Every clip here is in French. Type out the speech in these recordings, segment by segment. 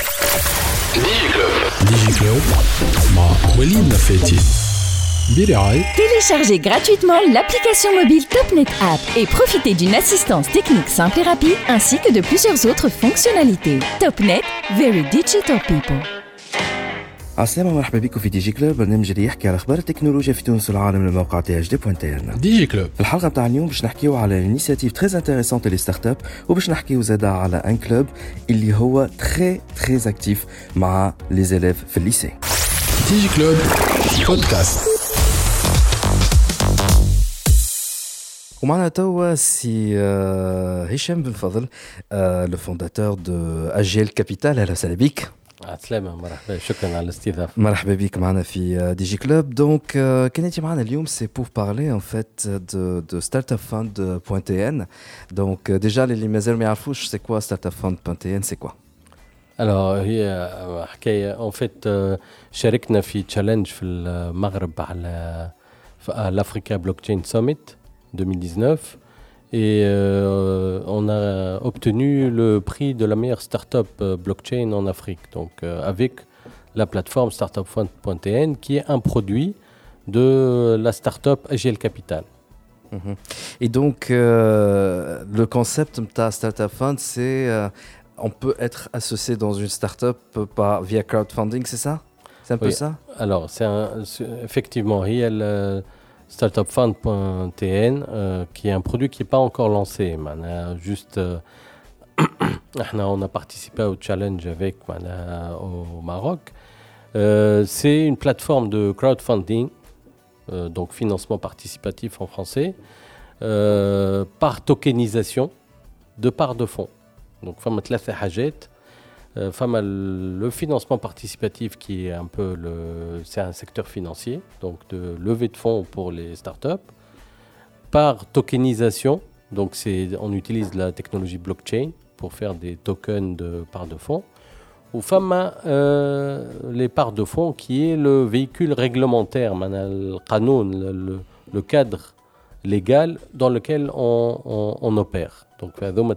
ديجي كلوب مع وليد نفاتي برعاية. Téléchargez gratuitement l'application mobile TopNet App et profitez d'une assistance technique simple et rapide ainsi que de plusieurs autres fonctionnalités. TopNet, very digital people. السلام مرحبا بكم في دي جي كلوب، برنامج اللي يحكي على اخبار التكنولوجيا في تونس والعالم من موقع THD.tn. ديجي كلوب في الحلقه نتاع اليوم باش نحكيو على انيشيتيف تري انتريسونت لي ستارت اب، وباش نحكيو زاده على ان كلوب اللي هو تري اكتيف مع لي زيليف في الليسي. ديجي كلوب بودكاست. ومعنا توا سي هشام بن فضل، لو فونداتور دو اجيل كابيتال. اهلا وسهلا بك. السلامة، مرحبا، شكرا على الاستضافة. مرحبا بك معنا في دي جي كلوب. دونك كنتي معنا اليوم سي بور بارلي ان فيت دو ستارت اب فاند بوان تي ان. دونك ديجا اللي مازال ما يعرفوش سي كوا ستارت اب فاند بوان تي ان، سي كوا؟ الو هي حكاية اون فيت شاركنا في تشالنج في المغرب على l'Africa Blockchain Summit 2019 et on a obtenu le prix de la meilleure startup blockchain en Afrique, donc avec la plateforme startupfund.tn qui est un produit de la startup AGL Capital. Et donc le concept de Startup Fund, c'est on peut être associé dans une startup via crowdfunding, c'est ça? C'est un peu ça? Alors effectivement, il y a le startupfund.tn qui est un produit qui n'est pas encore lancé. Juste, on a participé au challenge avec au Maroc. C'est une plateforme de crowdfunding, donc financement participatif en français, par tokenisation de parts de fonds. Donc, le financement participatif qui est un peu c'est un secteur financier, donc de levée de fonds pour les startups, par tokenisation, donc on utilise la technologie blockchain pour faire des tokens de parts de fonds, ou les parts de fonds qui est le véhicule réglementaire, le cadre légal dans lequel on opère. Donc,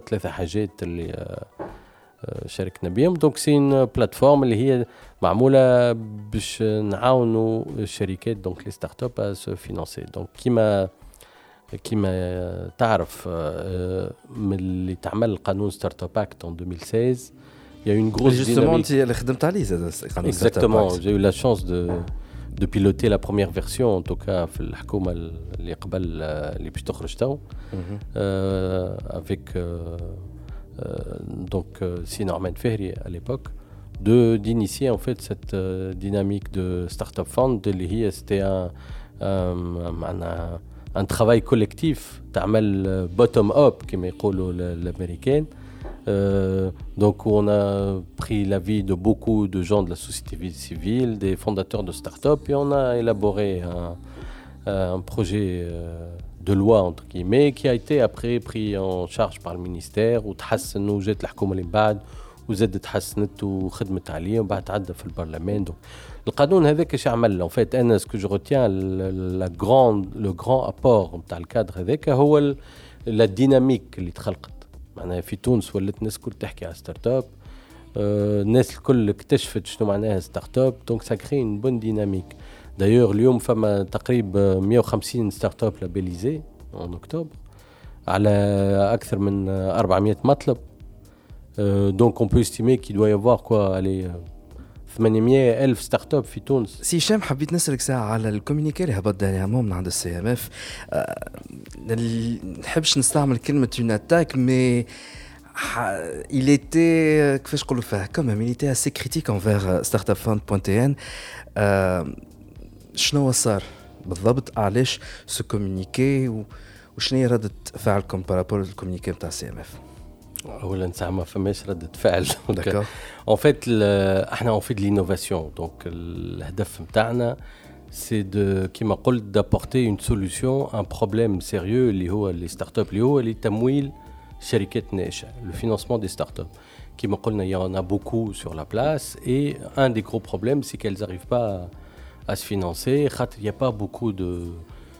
شاركنا بهم. دونك سي ان بلاتفورم اللي هي معموله باش نعاونوا الشركات دونك لي ستارت اب سو فينانسي. دونك كيما تعرف من اللي تعمل قانون ستارت اب اكت en 2016 il y a une grosse justement انت اللي خدمت عليه زاد قانون ستارت اب. Exactement, j'ai eu la chance de piloter la première version en tout cas في الحكومه اللي قبل اللي باش تخرج تو avec donc si Norman Ferry à l'époque d'initier en fait cette dynamique de startup fund. C'était un travail collectif, تعمل bottom up comme يقولوا l'américaine. Donc on a pris l'avis de beaucoup de gens de la société civile, des fondateurs de start-up, et on a élaboré un projet de loi entre guillemets qui a été après pris en charge par le ministère وتحسن وجات الحكومه اللي بعد وزادت تحسنت وخدمت عليه وبعد تعدى في البرلمان. دونك القانون هذاك اش عمل ان فيت انا سكو جو روتيان لو غران ابور نتاع الكادر هذاك هو لا ديناميك اللي تخلقت. معناها في تونس ولات الناس الكل تحكي على ستارت اب، الناس الكل اكتشفت شنو معناها ستارت اب، دونك سا كري اون بون ديناميك. D'ailleurs, اليوم فما تقريبا 150 ستارت اب لابيليزي en octobre على أكثر من 400 مطلب. Donc on peut estimer qu'il doit y avoir quoi, allez, 800,000 ستارت اب في تونس. سي هشام، حبيت نسألك ساعة على الكوميونيكي اللي هبط دانيامون من عند السي ام اف. نحبش نستعمل كلمة une attaque mais il était كيفاش نقولوا فيها quand même il était assez critique envers startupfund.tn. شنو صار بالضبط؟ علاش سو كومونيكي وشنو هي ردة فعلكم بارابور الكومونيكي نتاع سي ام اف؟ اولا ساعه ما فماش ردة فعل. ان فيت احنا اون في دو لينوفاسيون. دونك الهدف نتاعنا سي دو كيما قلت دابورتي اون سوليوشن ان بروبليم سيريو اللي هو لي ستارت اب، اللي هو تمويل شركات ناشئه، لو فينانسمون دي ستارت اب. كيما قلنا il y en a beaucoup sur la place et un des gros problèmes c'est qu'elles n'arrivent pas à se financer. Il n'y a pas beaucoup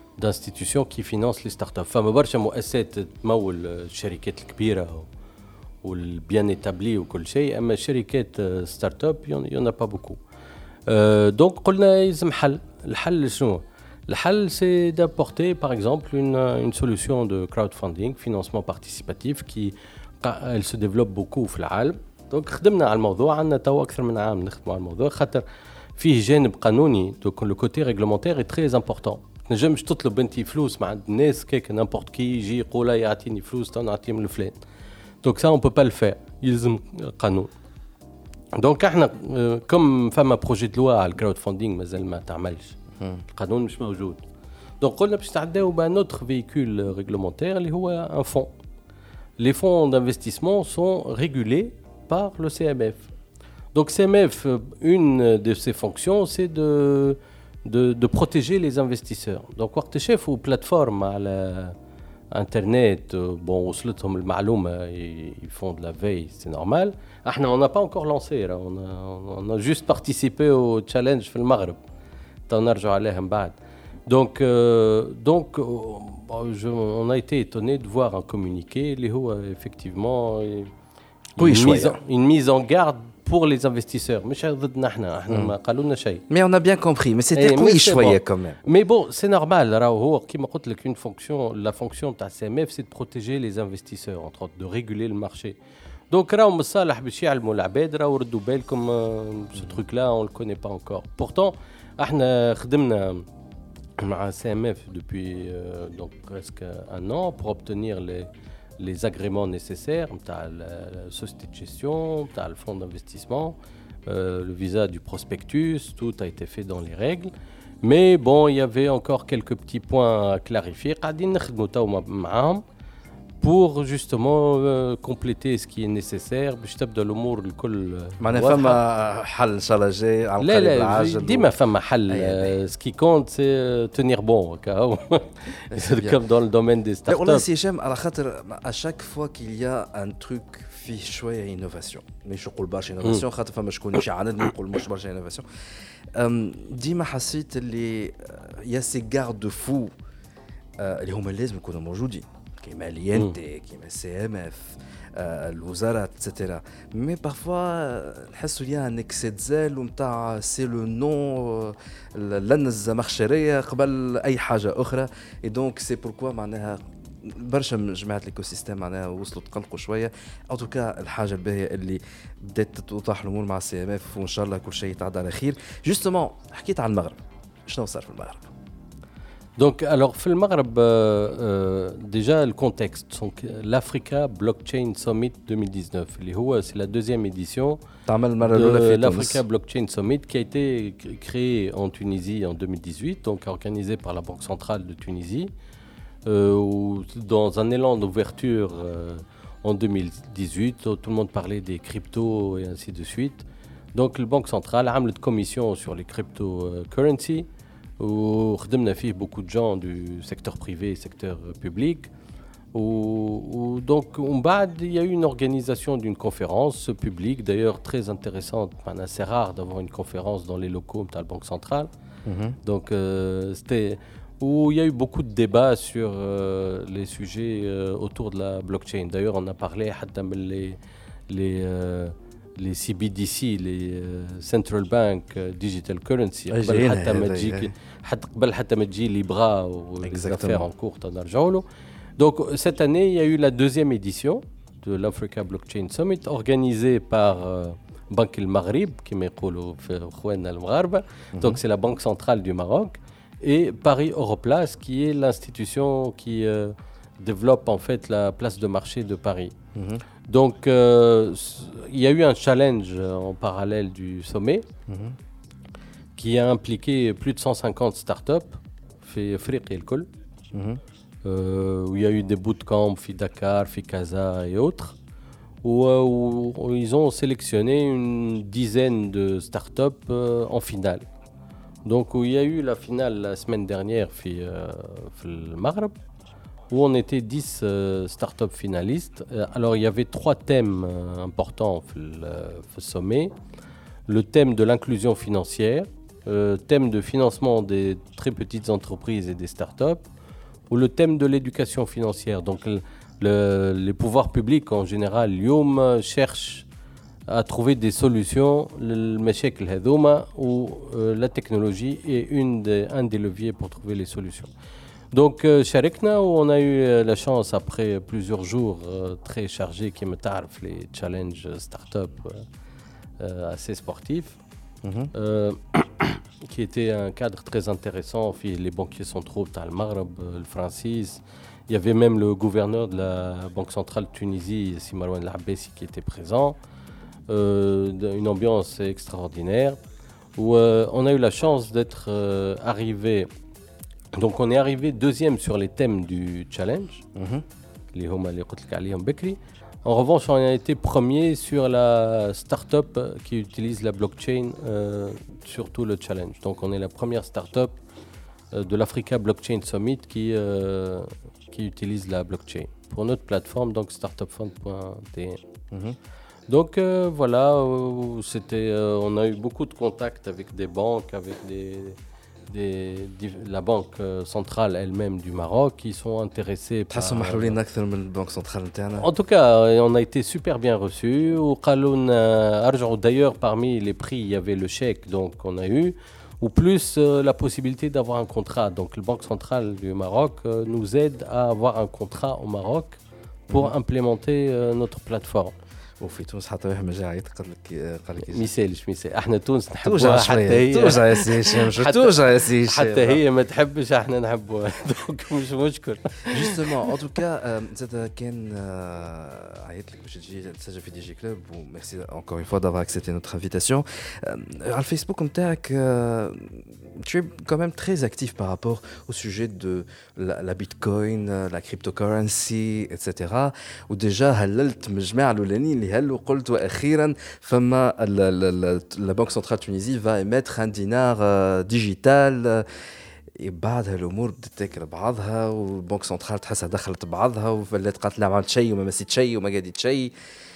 d'institutions qui financent les startups. فما برشا مؤسسات تمول الشركات الكبيرة والبيان établi وكل شيء. اما شركات ستارت اب il y en a pas beaucoup. Donc قلنا يلزم حل. الحل شنو؟ الحل c'est d'apporter par exemple une solution de crowdfunding, financement participatif qui elle se développe beaucoup في العالم. Donc خدمنا على الموضوع, عندنا تو اكثر من عام نخدموا على الموضوع خاطر فيه جانب قانوني. Donc le côté réglementaire est très important. نجمش تطلب انت فلوس مع الناس كيك n'importe qui يجي يقول يعطيني فلوس تو نعطيهم الفلان. Donc ça on peut pas le faire, يلزم قانون. Donc احنا comme فما بروجي دو لوا على الكراود فاندينغ مازال ما تعملش, القانون مش موجود. Donc قلنا باش تعداو بان اوتر فيكول ريغلومونتير اللي هو ان فون. Les fonds d'investissement sont régulés par le CMF. Donc CMF, une de ses fonctions, c'est de protéger les investisseurs. Donc وقت شافوا plateforme على Internet, bon, وصلتهم المعلومة, ils font de la veille, c'est normal. On n'a pas encore lancé, là. On a juste participé au challenge في المغرب. تنرجع عليها من بعد. Donc on a été étonné de voir un communiqué اللي هو effectivement une mise en garde pour les investisseurs. مش ضدنا احنا ما قالوا لنا شيء. Mais on a bien compris, mais c'était قوي شوية quand même. Mais bon, c'est normal. راهو هو كيما قلت لك une fonction, la fonction تاع CMF c'est de protéger les investisseurs, entre autres, de réguler le marché. Donc راهو مصالح باش يعلموا العباد, راهو ردوا بالكم ce truc là on le connaît pas encore. Pourtant احنا خدمنا مع CMF depuis donc presque un an pour obtenir les agréments nécessaires, la société de gestion, le fonds d'investissement, le visa du prospectus, tout a été fait dans les règles. Mais bon, il y avait encore quelques petits points à clarifier. Pour justement compléter ce qui est nécessaire باش تبدا الامور الكل معناها فما حل ان شاء الله جاي على القريب العاجل. ديما فما حل. ce qui compte c'est tenir bon comme dans le domaine des startups. والله سي هشام على خاطر à chaque fois qu'il y a un truc فيه شويه انوفاسيون, مش نقول برشا انوفاسيون خاطر فما شكون يمشي يعاندني يقول مش برشا انوفاسيون. ديما حسيت اللي يا سي غارد فو اللي هما لازم يكونوا موجودين كيما الينتي كيما سي ام اف الوزارات اتسيتيرا. مي بارفوا نحسوا ليها انك سيتزال ونتاع سي لو نون لنز مخشريه قبل اي حاجه اخرى. اي دونك سي بوركوا معناها برشا من جماعه الايكو سيستيم معناها وصلوا تقلقوا شويه. او توكا الحاجه الباهيه اللي بدات تتوضح الامور مع السي ام اف وان شاء الله كل شيء يتعدى على خير. جوستومون حكيت على المغرب, شنو صار في المغرب؟ Donc, alors, في المغرب, déjà le contexte, donc l'Africa Blockchain Summit 2019, c'est la deuxième édition de l'Africa Blockchain Summit qui a été créée en Tunisie en 2018, donc organisée par la Banque centrale de Tunisie, dans un élan d'ouverture en 2018, tout le monde parlait des cryptos et ainsi de suite. Donc, la Banque centrale a une commission sur les cryptocurrencies. وخدمنا فيه beaucoup de gens du secteur privé et secteur public. Donc, il y a eu une organisation d'une conférence publique, d'ailleurs très intéressante. C'est rare d'avoir une conférence dans les locaux de la Banque centrale. Donc, c'était où il y a eu beaucoup de débats sur les sujets autour de la blockchain. D'ailleurs, on a parlé les CBDC, les Central Bank Digital Currency. قبل ما تجي Libra ou les affaires en cours تنرجعوا له. Donc cette année, il y a eu la deuxième édition de l'Africa Blockchain Summit organisée par Banque El Maghrib, كما يقولوا في اخواننا المغاربه. Donc c'est la Banque centrale du Maroc et Paris Europlace qui est l'institution qui développe en fait la place de marché de Paris. Donc il y a eu un challenge en parallèle du sommet qui a impliqué plus de 150 startups في افريقيا الكل. Où il y a eu des bootcamps في Dakar, في Casa et autres, où ils ont sélectionné une dizaine de startups en finale. Donc où il y a eu la finale la semaine dernière في المغرب, où on était 10 startups finalistes. Alors il y avait 3 thèmes importants في sommet. Le thème de l'inclusion financière, thème de financement des très petites entreprises et des startups, ou le thème de l'éducation financière. Donc les pouvoirs publics en général اليوم cherchent à trouver des solutions للمشاكل هذوما où la technologie est un des leviers pour trouver les solutions. Donc شاركنا on a eu la chance après plusieurs jours très chargés qui me تعرف les challenges start-up assez sportifs qui était un cadre très intéressant les banquiers centraux تاع المغرب الفرنسيس. Il y avait même le gouverneur de la Banque centrale de Tunisie, Si Marouane Lahabessi, qui était présent. Une ambiance extraordinaire où on a eu la chance d'être arrivé. Donc on est arrivé deuxième sur les thèmes du challenge. En revanche, on a été premier sur la start-up qui utilise la blockchain sur tout le challenge. Donc on est la première start-up de l'Africa Blockchain Summit qui utilise la blockchain pour notre plateforme, donc startupfund.tn. Donc voilà, on a eu beaucoup de contacts avec des banques, avec la banque centrale elle-même du Maroc qui sont intéressés par... En tout cas, on a été super bien reçus. D'ailleurs, parmi les prix, il y avait le chèque, donc on a eu, ou plus la possibilité d'avoir un contrat. Donc la Banque centrale du Maroc nous aide à avoir un contrat au Maroc pour implémenter notre plateforme. وفي تونس حتى واحد ما جا عيط قال لك ميسالش احنا تونس نحبوها حتى هي توجع يا سي هشام توجع يا سي هشام حتى هي ما تحبش احنا نحبوها دونك مش مشكل جوستومون ان توكا زاد كان عيط لك باش تجي تسجل في دي جي كلوب وميرسي انكور اون فوا دافوار اكسبتي نوتر انفيتاسيون على الفيسبوك نتاعك tu es quand même très actif par rapport au sujet de la Bitcoin, la cryptocurrency, etc. Ou déjà, هللت من الجماعة الأولانيين اللي هلوا قلت وأخيرا فما la Banque centrale de Tunisie va émettre un dinar digital. بعد هالامور بدات تاكل بعضها والبنك سنترال تحسها دخلت بعضها وولات قالت لا عملت شيء وما مسيت شيء وما قاديت شيء.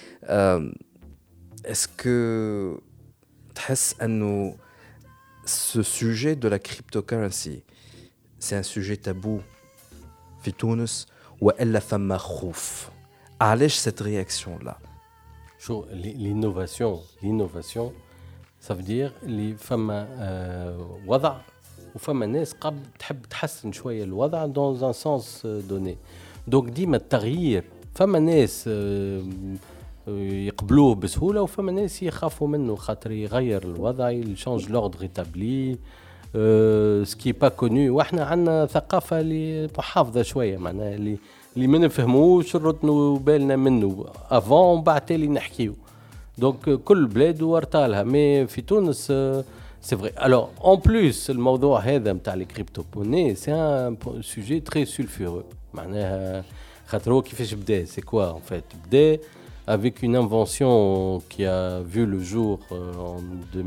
اسكو تحس انه ce sujet de la cryptocurrency c'est un sujet tabou في تونس والا فما خوف؟ علاش cette réaction là؟ شو l'innovation ça veut dire اللي فما وضع وفما ناس قبل تحب تحسن شويه الوضع dans un sens donné. donc ديما التغيير فما ناس يقبلوه بسهوله وفما ناس يخافوا منه خاطر يغير الوضع يشانج l'ordre établi ce qui est pas connu. واحنا عندنا ثقافه اللي محافظه شويه معناها اللي ما نفهموش نردوا بالنا منه افون بعد تالي نحكيو. donc كل بلاد ورطالها مي في تونس c'est vrai. Alors, en plus, le موضوع هذا متاع les crypto-monnaies, c'est un sujet très sulfureux. معناها خاطر هو كيفاش بدا؟ c'est quoi en fait؟ بدا avec une invention qui a vu le jour en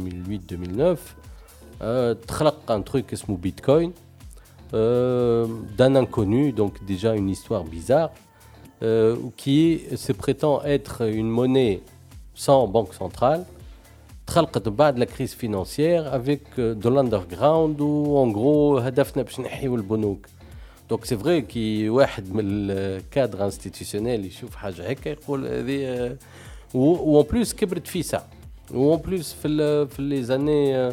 2008-2009. تخلق un truc اسمه Bitcoin d'un inconnu, donc déjà une histoire bizarre, qui se prétend être une monnaie sans banque centrale. تخلقت بعد la crise financière avec de l'underground où en gros هدفنا باش نحيو البنوك. donc c'est vrai كي واحد من الكادر انستيتيوشنيل يشوف حاجه هكا يقول هذه و en plus كبرت في ساعه و en plus في les années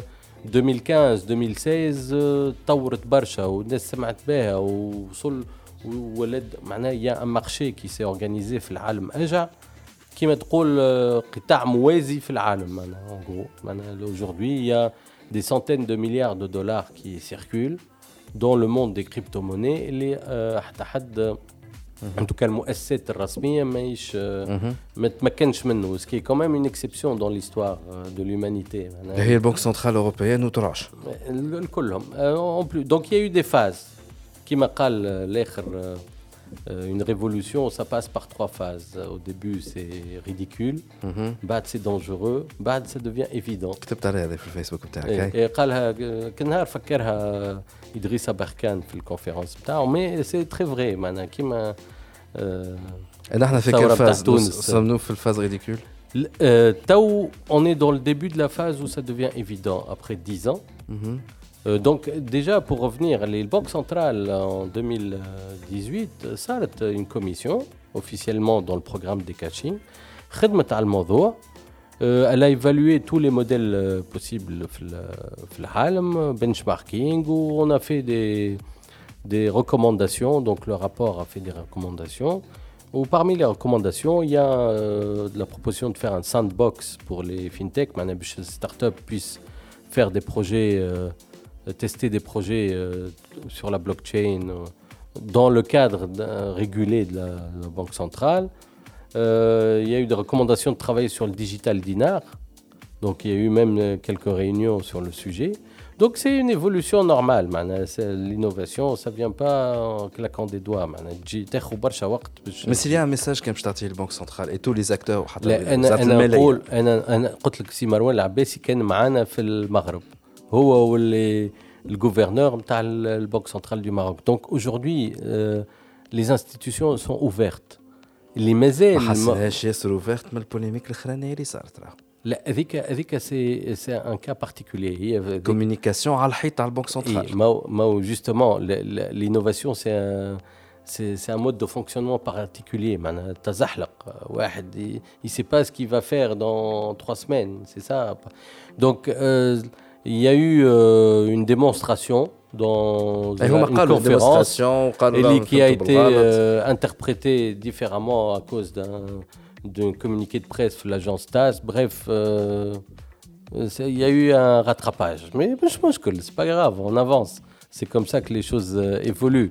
2015-2016 طورت برشا والناس سمعت بها ووصل ولد معناه يا ان مارشي كي سي اورغانيزي في العالم اجا كيما تقول قطاع موازي في العالم معناها en gros معناها aujourd'hui il y a des centaines de milliards de dollars qui circulent dans le monde des crypto-monnaies اللي حتى حد en tout cas المؤسسات الرسميه ماهيش ما تمكنش منه ce qui est quand même une exception dans l'histoire de l'humanité. هي البنك سنترال اوروبيان وتراش كلهم en plus. donc il y a eu des phases كيما قال الاخر une révolution, ça passe par 3 phases. Au début, c'est ridicule. بعد c'est dangereux. بعد ça devient évident. كتبت عليها هذه في الفيسبوك بتاعك. قالها كل نهار فكرها إدريس بركان في الكونفرنس بتاعه. mais c'est très vrai معناها كيما احنا في كل فاز صمنوا في الفاز ridicule. تو on est dans le début de la phase où ça devient évident après 10 ans. Donc déjà pour revenir, les banques centrales en 2018 صارت une commission officiellement dans le programme des catching. خدمت على الموضوع. Elle a évalué tous les modèles possibles في العالم, benchmarking, où on a fait des recommandations. Donc le rapport a fait des recommandations. Où parmi les recommandations, il y a la proposition de faire un sandbox pour les fintech, que les startups puissent faire des projets, tester des projets sur la blockchain dans le cadre régulé de la Banque centrale. Il y a eu des recommandations de travailler sur le digital dinar. Donc il y a eu même quelques réunions sur le sujet. Donc c'est une évolution normale. L'innovation, ça ne vient pas en claquant des doigts. Mais s'il y a un message qui est la Banque centrale et tous les acteurs, أنا قلت لك سي مروان العباسي كان معنا في المغرب. هو واللي الgouverneur نتاع البنك سنترال du Maroc. Donc aujourd'hui, les institutions sont ouvertes. اللي مازال ما حسناش ياسر اوفيرت من البوليميك الاخرانيه اللي صارت راه. لا هذيك سي ان كا بارتيكولير. هي كومونيكاسيون على الحيط تاع البنك سنترال. ما جوستومون l'innovation c'est un mode de fonctionnement particulier. معناها تزحلق واحد il sait pas ce qu'il va faire dans 3 semaines, c'est ça. Donc il y a eu une démonstration dans une conférence qui a été interprétée différemment à cause d'un communiqué de presse de l'agence TASS. Bref, il y a eu un rattrapage. Mais je pense que c'est pas grave, on avance. C'est comme ça que les choses évoluent.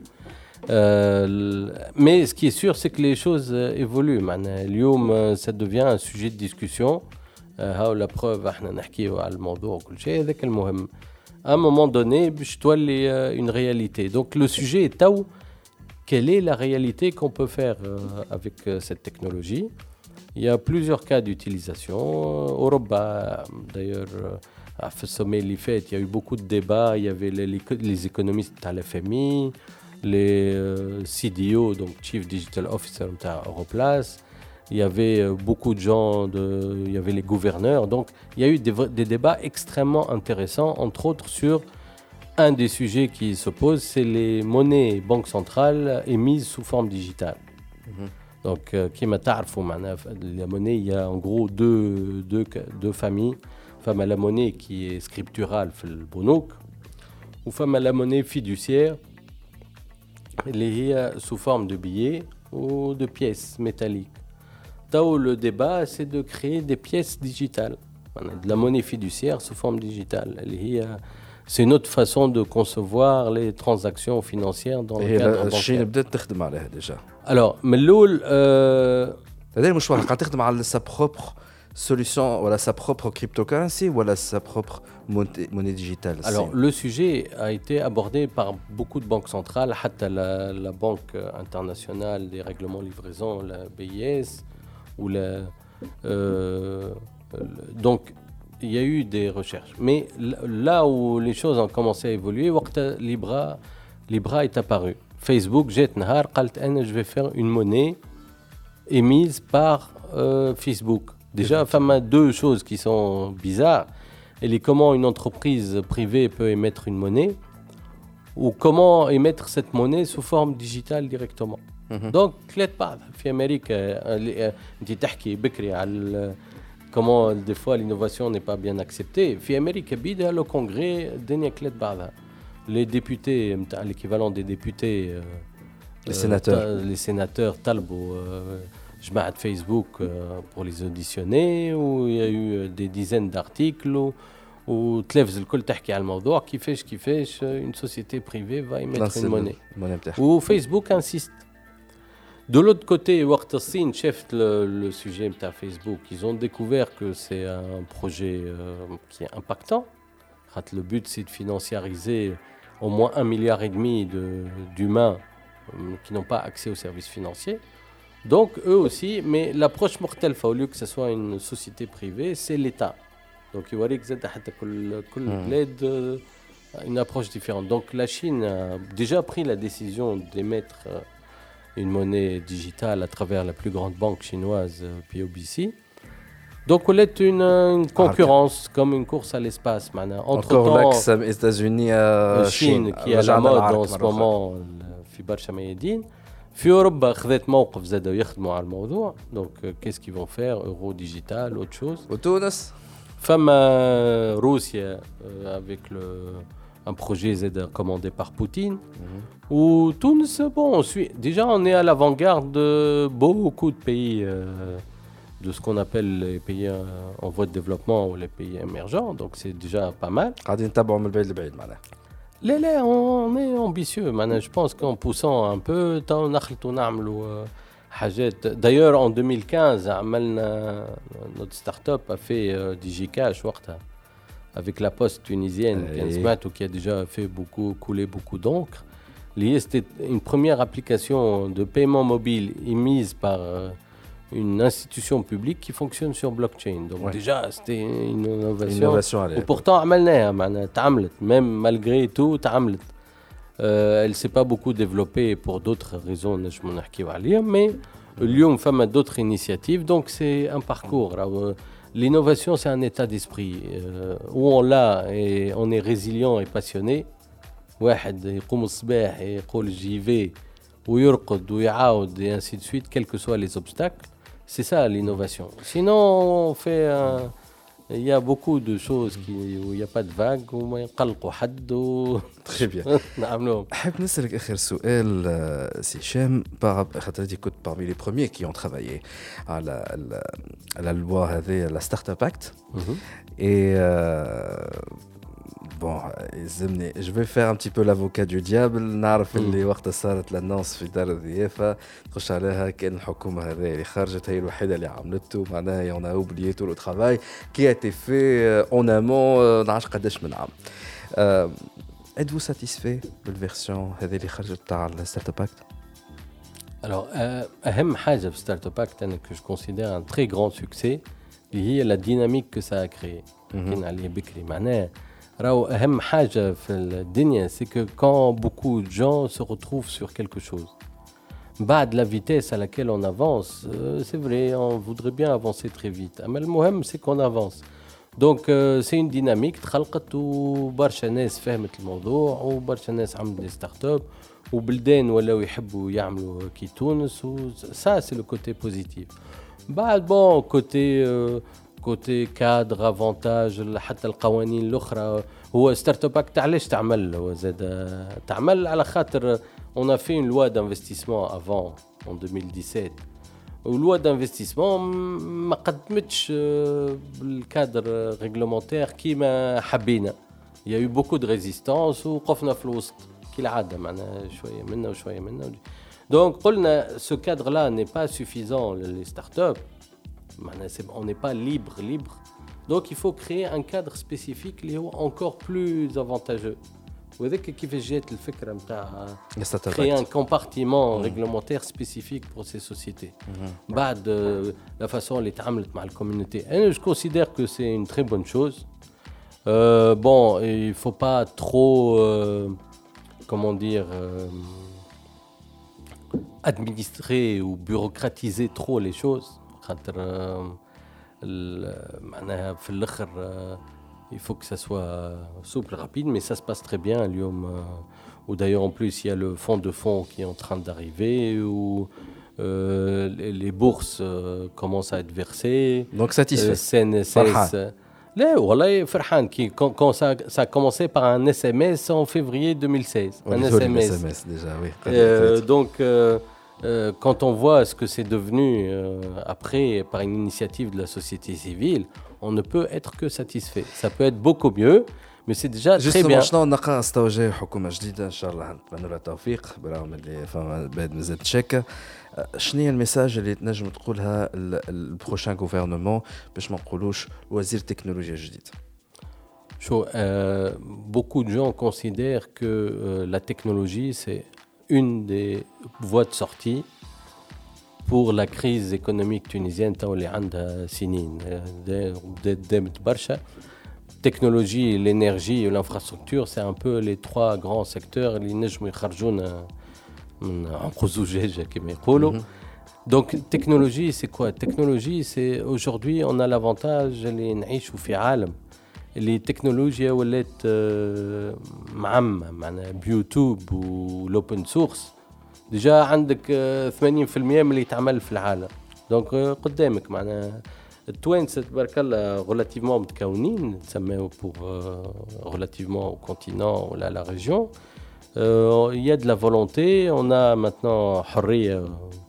Mais ce qui est sûr, c'est que les choses évoluent. اليوم ça devient un sujet de discussion. La preuve, احنا نحكيو على الموضوع وكل شيء. هذاك المهم. À un moment donné, je dois une réalité. Donc le sujet est quelle est la réalité qu'on peut faire avec cette technologie? Il y a plusieurs cas d'utilisation. Europe, d'ailleurs, à ce sommet l'IFET, il y a eu beaucoup de débats. Il y avait les économistes à l'FMI, les CDO, donc Chief Digital Officer à Europlace. Il y avait beaucoup de gens, il y avait les gouverneurs. Donc, il y a eu des débats extrêmement intéressants, entre autres sur un des sujets qui se posent, c'est les monnaies banques centrales émises sous forme digitale. Donc, كما تعرفوا معناها la monnaie, il y a en gros deux familles. فما la monnaie qui est scripturale في البنوك وفما la monnaie fiduciaire اللي هي sous forme de billets ou de pièces métalliques. Le débat, c'est de créer des pièces digitales, de la monnaie fiduciaire sous forme digitale. C'est une autre façon de concevoir les transactions financières dans le cadre bancaire. الصين بدات تخدم عليها déjà. Alors, من الأول هذا المشروع قاعد تخدم على sa propre solution ولا sa propre cryptocurrency ولا sa propre monnaie digitale. Alors, le sujet a été abordé par beaucoup de banques centrales, حتى la Banque internationale des règlements livraison, la BIS. Donc, il y a eu des recherches. Mais là où les choses ont commencé à évoluer, Libra est apparu. Facebook, je vais faire une monnaie émise par Facebook. Déjà, il y a deux choses qui sont bizarres. Comment une entreprise privée peut émettre une monnaie ou comment émettre cette monnaie sous forme digitale directement. Donc, ثلاث بعض في أمريكا أنت تحكي بكري على comment des fois l'innovation n'est pas bien acceptée. في أمريكا بيدها le congrès الدنيا ثلاث بعضها. Les députés, l'équivalent des députés, les sénateurs طلبوا جماعة Facebook pour les auditionner, où il y a eu des dizaines d'articles وتلفز الكل تحكي على الموضوع كيفاش une société privée va émettre une monnaie. Où Facebook insiste. De l'autre côté, وقت الصين شفت le sujet de Facebook, ils ont découvert que c'est un projet qui est impactant. Le but, c'est de financiariser au moins 1,5 milliard d'humains qui n'ont pas accès aux services financiers. Donc, eux aussi, mais l'approche mortelle, au lieu que ce soit une société privée, c'est l'État. Donc, il y a une approche différente. Donc, la Chine a déjà pris la décision d'émettre une monnaie digitale à travers la plus grande banque chinoise, POBC. Donc, on est une concurrence, comme une course à l'espace. Entre-temps, États-Unis, Chine, qui est à la mode en ce moment, Fibar Chamayedine. في اوروبا خذت موقف زادوا يخدموا على الموضوع دونك كيس كي فون فير اورو ديجيتال اوت شوز. وتونس فما روسيا avec un projet commandé par Poutine. Ou Tunis, bon, déjà on est à l'avant-garde de beaucoup de pays, de ce qu'on appelle les pays en voie de développement ou les pays émergents, donc c'est déjà pas mal. قاعدين نتابعوا من البعيد لبعيد معناها. Là, on est ambitieux. Maintenant, je pense qu'en poussant un peu, d'ailleurs en 2015, notre start-up a fait DigiCash avec la poste tunisienne qui a déjà fait couler beaucoup d'encre. C'était une première application de paiement mobile émise par une institution publique qui fonctionne sur blockchain. Donc déjà, c'était une innovation. Et pourtant, même malgré tout, elle ne s'est pas beaucoup développée pour d'autres raisons, mais اليوم فما d'autres initiatives. Donc c'est un parcours. L'innovation, c'est un état d'esprit où on l'a et on est résilient et passionné. واحد يقوم الصباح يقول j'y vais ويرقد ويعاود et ainsi de suite, quels que soient les obstacles. C'est ça l'innovation. Sinon, on fait il y a beaucoup de choses où il n'y a pas de vagues وما يقلقوا حد Très bien. نعملوهم. حاب نسألك آخر سؤال سي هشام خاطر كنت parmi les premiers qui ont travaillé على la loi هذه la Startup Act. Et bon, je vais faire un petit peu l'avocat du diable. نعرف اللي وقت صارت l'annonce في دار الضيافة تخش عليها كأن الحكومة هذه اللي خرجت هي الوحيدة اللي عملته معناها on a oublié tout le travail qui a été fait en amont نعرفش قداش من عام. Êtes-vous satisfait de la version هذه اللي خرجت تاع الستارت اب اكت؟ Alors, أهم حاجة في ستارت اب اكت que je considère un très grand succès اللي هي la dynamique que ça a créé. حكينا عليه بكري معناها راهو أهم حاجة في الدنيا c'est que quand beaucoup de gens se retrouvent sur quelque chose. بعد la vitesse à laquelle on avance, c'est vrai, on voudrait bien avancer très vite. Mais le مهم c'est qu'on avance. Donc c'est une dynamique تخلقت وبرشا ناس فهمت الموضوع وبرشا ناس عملت des startups وبلدان ولاو يحبوا يعملوا كي تونس ça c'est le côté positif. بعد bon côté cadre avantage حتى القوانين الاخرى هو ستارت اب اكت علاش تعمل هو زاد تعمل على خاطر on a fait une loi d'investissement avant en 2017 واللوا d'investissement ما قدمتش بالكادر ريغلومونتير كيما حبينا. Il y a eu beaucoup de résistance وقفنا في الوسط كالعاده معنا شويه منا وشويه منا. Donc قلنا ce cadre là n'est pas suffisant les startups. On n'est pas libre. Donc il faut créer un cadre spécifique qui est encore plus avantageux. وهذاك كيف جات الفكره نتاع créer un compartiment réglementaire spécifique pour ces sociétés. بعد la façon اللي تعاملت مع الcommunauté. Je considère que c'est une très bonne chose. Bon, il faut pas trop comment dire administrer ou bureaucratiser trop les choses. خاطر معناها في الاخر il faut que ça soit souple, rapide, mais ça se passe très bien. Ou d'ailleurs, en plus, il y a le fonds de fonds qui est en train d'arriver, où les bourses commencent à être versées. Donc, satisfait. CNSS. Là, voilà, Farhan, quand ça a commencé par un SMS en février 2016. Un SMS déjà, oui. Donc, quand on voit ce que c'est devenu après par une initiative de la société civile, on ne peut être que satisfait. Ça peut être beaucoup mieux, mais c'est déjà très bien. شنو نقص توجيه حكومه جديده ان شاء الله نتمنى لها التوفيق برغم اللي فما بعد مازال تشيك. شنو هي الميساج اللي تنجم تقولها البروشان غوفرنمون باش ما نقولوش وزير التكنولوجيا الجديد؟ Beaucoup de gens considèrent que la technologie c'est une des voies de sortie pour la crise économique tunisienne اللي عندها سنين دامت برشا. Technologie, l'énergie et l'infrastructure, c'est un peu les trois grands secteurs اللي نجموا يخرجونا من عنق الزجاجة كما يقولوا. Donc technologie c'est quoi? Technologie c'est aujourd'hui on a l'avantage اللي نعيشوا في عالم اللي التكنولوجيا ولات معمة معناها بيوتيوب والopen source. ديجا عندك 80% من اللي يتعمل في العالم. دونك قدامك معناها التوانسه تبارك الله غولاتيفمون متكونين نسميو بور غولاتيفمون او كونتينون ولا لا ريجيون. Il y a de la volonté, on a maintenant حريه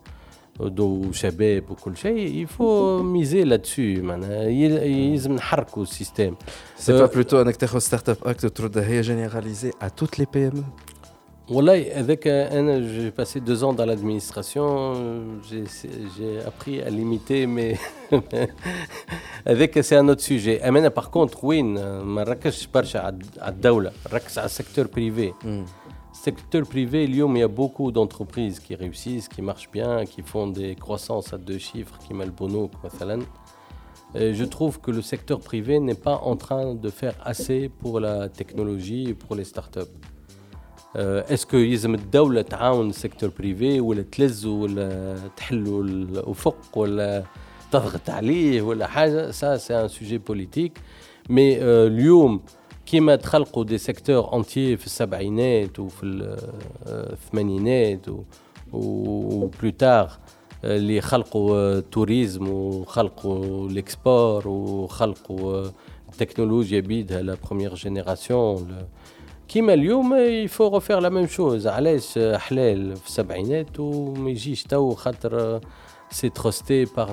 وشباب وكل شيء. Il faut miser là-dessus معناها يلزم نحركوا السيستم. C'est pas plutôt انك تاخذ ستارت اب اكت وتردها هي généralisée à toutes les PME. والله هذاك انا j'ai passé 2 ans dans l'administration, j'ai appris à limiter mais هذاك c'est un autre sujet. انا par contre وين ما نركزش برشا على الدوله, نركز على السيكتور بريفي. Secteur privé, il y a beaucoup d'entreprises qui réussissent, qui marchent bien, qui font des croissances à 2 chiffres, qui mettent le bonus, je trouve que le secteur privé n'est pas en train de faire assez pour la technologie et pour les startups. Est-ce que يلزم الدولة تعاون السيكتور بريفي ولا تلزو ولا تحلو الأفق ولا تضغط عليه ولا حاجة؟ Ça c'est un sujet politique. Mais اليوم كيما تخلقوا دي سيكتور انتيي في السبعينات وفي الثمانينات و بلو تار اللي خلقوا توريزم وخلقوا الاكسبور وخلقوا التكنولوجيا بيدها لا بروميير جينيراسيون كيما اليوم يفو ريفير لا ميم شوز. علاش حلال في السبعينات وما يجيش تو خاطر سي تروستي بار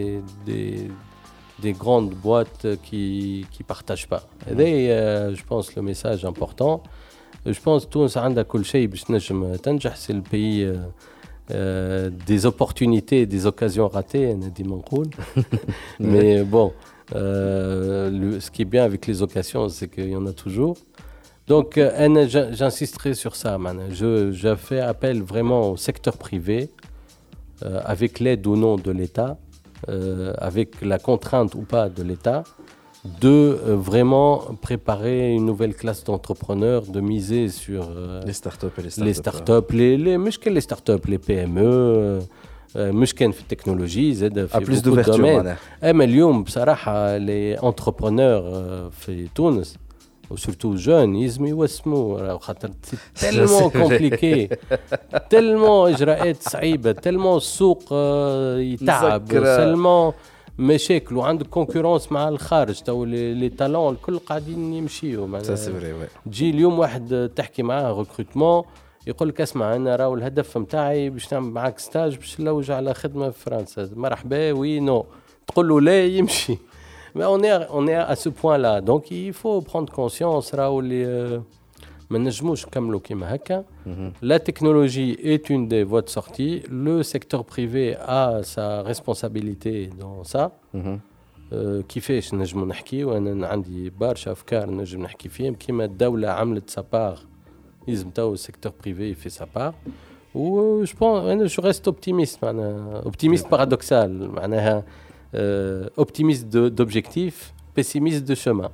des grandes boîtes qui partagent pas. Et je pense le message important. Je pense Tunis عندها كل شيء باش نجم تنجح. C'est le pays des opportunités, des occasions ratées, أنا ديما نقول. Mais bon, ce qui est bien avec les occasions, c'est qu'il y en a toujours. Donc j'insisterai sur ça. Je fais appel vraiment au secteur privé, avec l'aide ou non de l'État. Avec la contrainte ou pas de l'État, de vraiment préparer une nouvelle classe d'entrepreneurs, de miser sur les startups, les startups, les PME, مش كان في التكنولوجي زاد في plus d'ouverture. اما اليوم بصراحه les entrepreneurs في تونس وسورتو جون يلزم يوسموا خاطر تellement compliqué, tellement اجراءات صعيبه, tellement السوق يتعب, tellement مشاكل وعندك كونكورونس مع الخارج. تو لي تالون الكل قاعدين يمشيوا معناها. تجي اليوم واحد تحكي معاه ريكروتمون يقول لك اسمع انا راهو الهدف نتاعي باش نعمل معاك ستاج باش نلوج على خدمه في فرنسا. مرحبا وي نو تقول له لا يمشي. Mais on est à ce point-là. Donc il faut prendre conscience ما نجموش نكملوا كيما هكا. La technologie est une des voies de sortie. Le secteur privé a sa responsabilité dans ça. كيفاش نجموا نحكي وانا عندي برشا افكار نجم نحكي فيهم. كيما الدولة عملت سابار لازم تو السيكتور بريفي في سابار. و je pense انا je reste optimiste معناها optimiste paradoxal معناها optimiste d'objectif, pessimiste de chemin.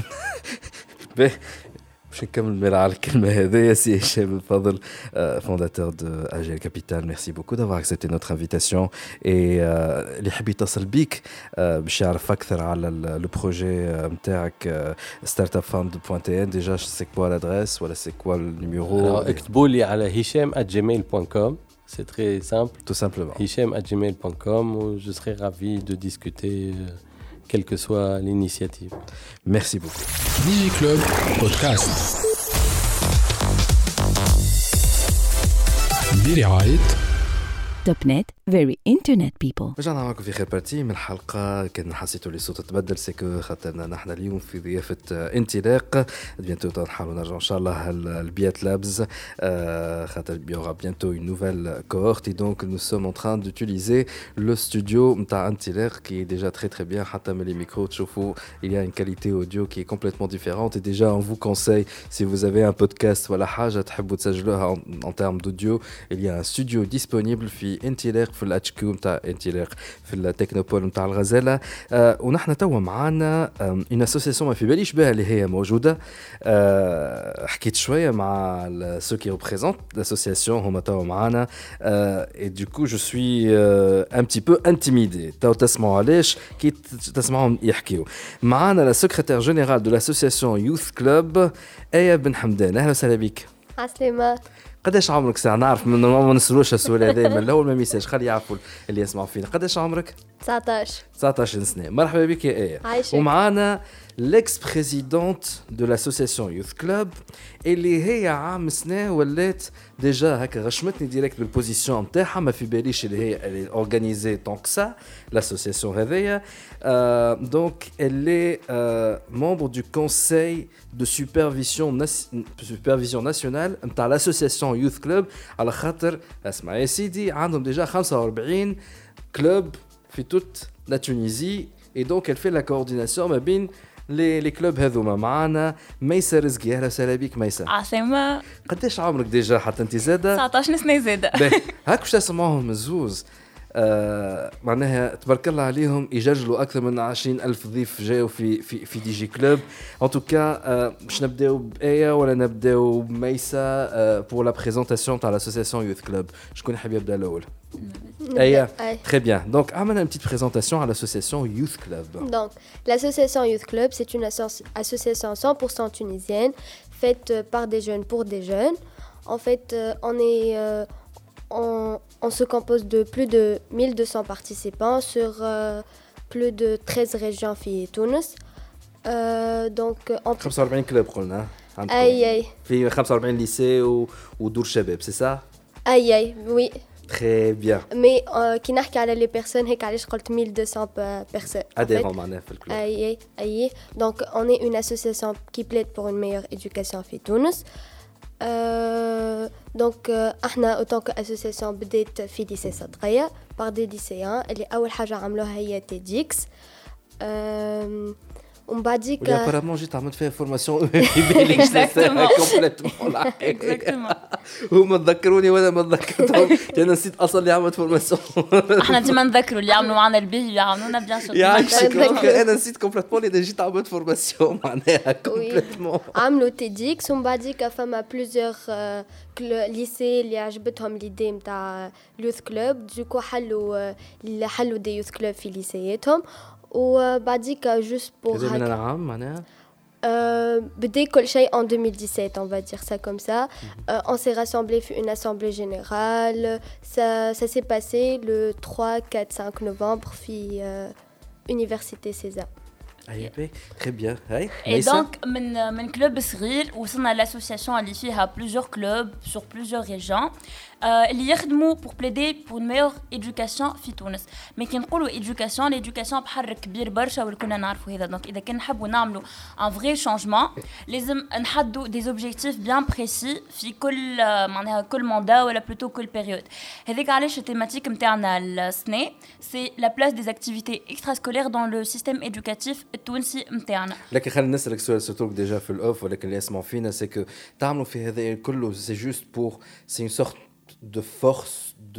باش نكمل على الكلمة هذه. سي هشام الفضل, fondateur de AGL Capital, merci beaucoup d'avoir accepté notre invitation. Et اللي حبي يتصل بيك باش يعرف أكثر على البروجي نتاعك startupfund.tn. déjà c'est quoi l'adresse ولا c'est quoi le numéro? اكتبوا لي على hisham@gmail.com. C'est très simple. Tout simplement. hisham@gmail.com. Je serai ravi de discuter quelle que soit l'initiative. Merci beaucoup. DigiClub Podcast برعاية TopNet, very internet people. رجعنا معكم في خير بارتي من الحلقة. كان حسيتوا لي صوت تبدل سيكو خاطرنا نحن اليوم في ضيافة انطلاق. بيانتو نحاولوا نرجعوا ان شاء الله البيات لابز خاطر il y aura bientôt une nouvelle cohorte et donc nous sommes en train d'utiliser le studio نتاع انطلاق qui est déjà très très bien. حتى من les micros تشوفوا il y a une qualité audio qui est complètement différente et déjà on vous conseille si vous avez un podcast ولا حاجة تحبوا تسجلوها en termes d'audio, il y a un studio disponible في انطلاق في الاتش كيو نتاع انطلاق في التكنوبول نتاع الغزاله. ونحن توا معنا une association ما في باليش بها اللي هي موجوده. حكيت شويه مع ceux qui représentent l'association هما توا معنا et du coup je suis un petit peu intimidé. توا تسمعوا علاش كي تسمعهم يحكيوا معنا la secrétaire générale de l'association Youth Club آية بن حمدان. اهلا وسهلا بك. عسلامة. قداش عمرك ساعة نعرف من ما نسولوش السؤال هذا من الاول ما ميساج خلي يعرفوا اللي يسمعوا فينا. قداش عمرك؟ 19 سنة. مرحبا بك يا آية. ومعانا l'ex présidente de l'association Youth Club اللي هي عام سنة ولات ديجا هكا غشمتني ديريكت بالبوزيسيون نتاعها ما في باليش اللي هي اورغانيزي طونك سا l'association هذيا. Donc elle est membre du conseil de supervision nationale نتاع l'association Youth Club على خاطر اسمع يا سيدي عندهم ديجا 45 كلوب في toute la Tunisie et donc elle fait la coordination ما بين les clubs هذوما. معانا ميسة رزقي. اهلا وسهلا بك ميسة. عسلامة. قداش عمرك ديجا حتى انت زاده؟ 19 سنة زاده. هاك باش تسمعوهم الزوز. معناها تبارك الله عليهم يجرجلوا اكثر من 20,000 ضيف جاوا في دي جي كلوب. ان توكا باش نبداو بآية ولا نبداو بميسة بور لا بريزونطاسيون تاع l'association Youth Club. شكون يحب يبدا الاول؟ آية. Très bien. Donc amène une petite présentation à l'association Youth Club. Donc l'association Youth Club, c'est une association 100% tunisienne faite par des jeunes pour des jeunes. En fait, on se compose de plus de 1200 participants sur plus de 13 régions في تونس. Donc 45 كلوب قلنا. اي في 45 ليسي ودور شباب سي سا. اي oui. Très bien. Mais qui نحكي على les personnes هيك علاش قلت 1200 personnes. Adhérents معناها في الكلوب. اي donc on est une association qui plaide pour une meilleure éducation في تونس. Donc احنا autant que association بديت في lycée صدقية par des lycéens اللي اول حاجة عملوها هي TEDx. ومن بعديك ولا apparemment جيت عملت فيها فورماسيون كومبليتمون لا هما تذكروني وانا ما تذكرتهم. انا نسيت اصلا اللي عملت فورماسيون. احنا ديما نذكروا اللي يعملوا معنا البيه يعملونا بيان سور. انا نسيت كومبليتمون اللي جيت عملت فورماسيون معناها كومبليتمون. عملوا TEDx ومن بعديك فما بلوزيور ليسي اللي عجبتهم ليدي نتاع يوث كلوب دوكو حلوا دي يوث كلوب في ليسياتهم. وبعديك juste pour هذا من العام معناها بدأ كل شيء en 2017 on va dire ça comme ça. On s'est rassemblés pour une assemblée générale. Ça s'est passé le 3, 4, 5 novembre في Université César. Très bien. Et donc من كلوب صغير وصلنا l'association اللي فيها plusieurs clubs sur plusieurs régions اللي يخدموا pour plaider pour une meilleure éducation في تونس. mais كي نقولوا l'éducation بحر كبير برشا والكلنا نعرفوا هذا. donc اذا كان نحبوا نعملوا un vrai changement لازم نحدوا des objectifs bien précis في كل معناها كل mandat ولا plutôt كل période. هذيك علاش التيماتيك نتاعنا السنه c'est la place des activités extrascolaires dans le système éducatif التونسي نتاعنا. لكن خلينا نسالك سؤال سورتو ديجا في الاوف ولكن اللي يسمعوا فينا سي كو تعملوا في هذا كله سي جوست بور سي une sorte de force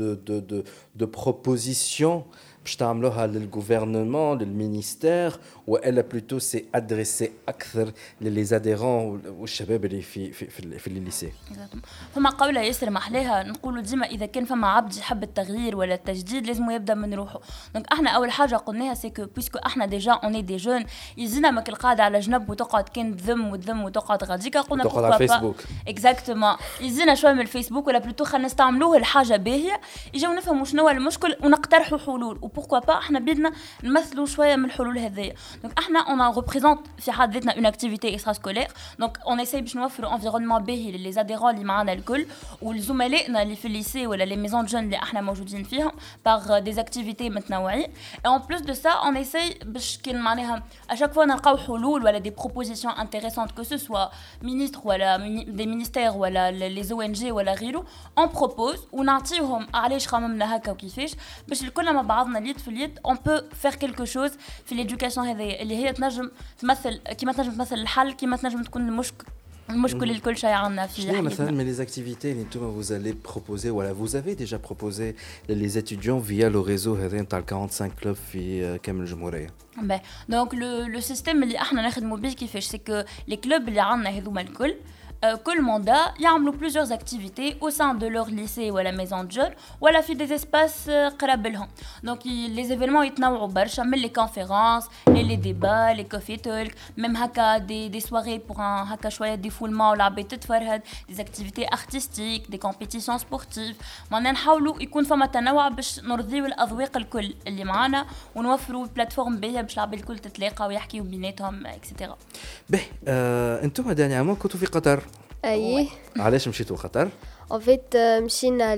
de proposition باش تعملوها للغوفرنمون للمينيستير والا بلوتو سي ادريسي اكثر للي اديرون والشباب اللي في الليسي. فما قوله ياسر محلاها نقولوا ديما اذا كان فما عبد يحب التغيير ولا التجديد لازم يبدا من روحه. دونك احنا اول حاجه قلناها سي كو بيسكو احنا ديجا اوني دي جون يزينا ماك القاعده على جنب وتقعد كان تذم وتقعد غاديكا قلنا تقعد على الفيسبوك اكزاكتومون يزينا شويه من الفيسبوك ولا بلوتو خلينا نستعملوه الحاجه باهيه يجيو نفهموا شنو هو المشكل ونقترحوا حلول. وبوركوا با احنا بدنا نمثلوا شويه من الحلول هذيا. دونك احنا اون ريبريزونت في حد ذاتنا اون اكتيفيتي اكسترا سكولير. دونك اون اساي باش نوفروا انفيرونمون باهي للي اديرون اللي معنا الكل والزملائنا اللي في الليسي ولا لي ميزون جون اللي احنا موجودين فيهم باغ دي اكتيفيتي متنوعين. اون بلوس دو سا اون اساي باش كان معناها اشاك فوا نلقاو حلول ولا دي بروبوزيسيون انتريسانت كو سو سوا مينيستر ولا دي مينيستير ولا لي او ان جي ولا غيره اون بروبوز ونعطيهم علاش خممنا هكا وكيفاش باش الكل مع بعضنا اليد في اليد on peut faire quelque chose في l'éducation هذه اللي هي تنجم تمثل كيما تنجم تمثل الحل كيما تنجم تكون المشكل الكل شيء عندنا في حياتنا. مثلا من les activités اللي نتوما vous allez proposer ولا vous avez déjà proposé les étudiants via le réseau هذا نتاع 45 كلوب في كامل الجمهوريه. دونك لو سيستيم اللي احنا نخدموا به كيفاش سي كو لي كلوب اللي عندنا هذوما الكل كل mandat يعملوا plusieurs activités au sein de leur lycée ou la maison de jeunes ولا في des espaces قراب لهم. Donc les événements يتنوعوا برشا من les conférences et les débats, les coffee talk, même هكا des soirées pour un هكا شوية défoulement والعباد تتفرهد, des activités artistiques, des compétitions sportives. معناها نحاولوا يكون فما تنوع باش نرضيو الأذواق الكل اللي معانا ونوفروا بلاتفورم باهية باش العباد الكل تتلاقى ويحكيوا بيناتهم etc. باهي انتم دانيامون كنتوا في قطر. اي علاش مشيتوا قطر؟ en fait مشينا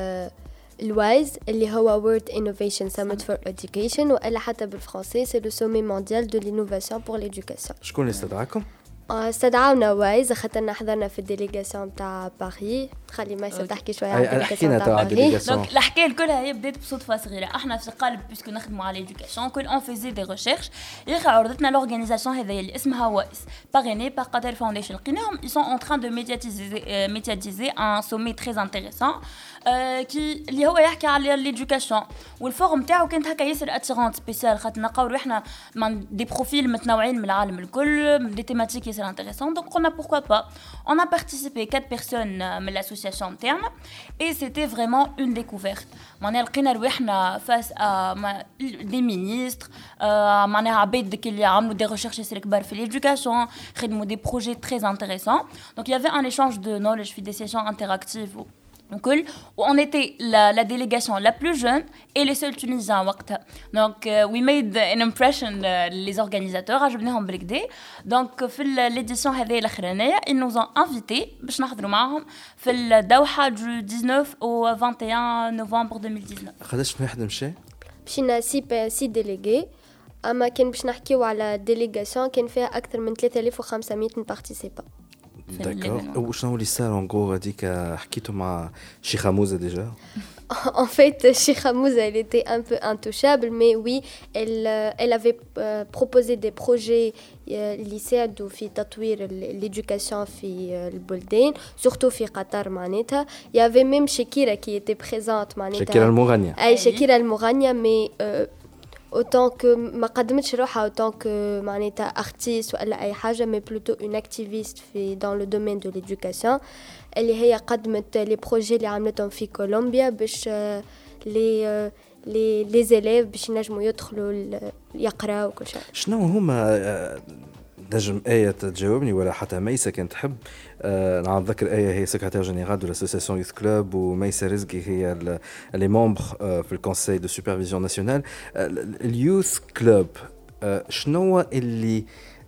الوايز اللي هو World Innovation Summit for Education وإلا حتى بالفرنسي c'est le sommet mondial de l'innovation pour l'éducation. شكون اللي استدعاكم؟ استدعونا وايز خاطرنا حضرنا في الديليغاسيون تاع باريس. خلي ما تحكي شويه على الديليغاسيون تاع باريس. دونك الحكايه كلها هي بدات بصدفه صغيره. احنا في قالب بيسكو نخدموا على ليدوكاسيون كل اون فيزي دي ريشيرش يخي عرضتنا لورغانيزاسيون هذه اللي اسمها وايز باريني بار قطر فاونديشن. لقيناهم ils sont en train de médiatiser un sommet très intéressant كي اللي هو يحكي على ليدوكاسيون والفورم تاعو كانت هكا ياسر اتيرونت سبيسيال خاطر نلقاو احنا دي بروفيل متنوعين من العالم الكل دي تيماتيك ياسر intéressant. Donc on a pourquoi pas. On a participé 4 personnes de l'association interne et c'était vraiment une découverte. معناها لقينا رواحنا face à des ministres معناها عباد اللي عملوا des recherches ياسر كبار في l'éducation خدموا des projets très intéressants. Donc il y avait un échange de knowledge في des sessions interactives on était la délégation la plus jeune et les seuls Tunisiens وقتها. Donc we made an impression les organisateurs عجبناهم بالكدا. Donc في l'édition هذه الأخرانية ils nous ont invités باش نحضروا معهم في الدوحة du 19 au 21 novembre 2019. قداش واحد مشى؟ مشينا 6 ديليغي اما كان باش نحكيو على ديليغاسيون كان فيها اكثر من 3500 بارتيسيبان. D'accord. وشنو اللي صار en gros هذيك حكيتوا مع شي خاموزة déjà؟ En fait, chez Khamouza, elle était un peu intouchable, mais oui, elle avait proposé des projets lycéens في تطوير l'éducation في البلدان, surtout في قطر معناتها. Il y avait même Shakira qui était présente معناتها. Shakira المغنية. أي Shakira المغنية, mais autant que ما قدمتش روحها autant que معناتها artiste ولا أي حاجة, mais plutôt une activiste في dans le domaine de l'éducation. اللي هي قدمت لي بروجي اللي عملتهم في كولومبيا باش لي زيليف باش ينجموا يدخلوا يقراوا وكل شيء. شنو هما نجم آية تجاوبني ولا حتى ميسة كانت تحب؟ نذكر آية هي سكرتير جينيرال دو لاسوسياسيون يوث كلوب وميسة رزقي هي لي ممبر في الكونساي دو سوبرفيزيون ناسيونال. اليوث كلوب شنو اللي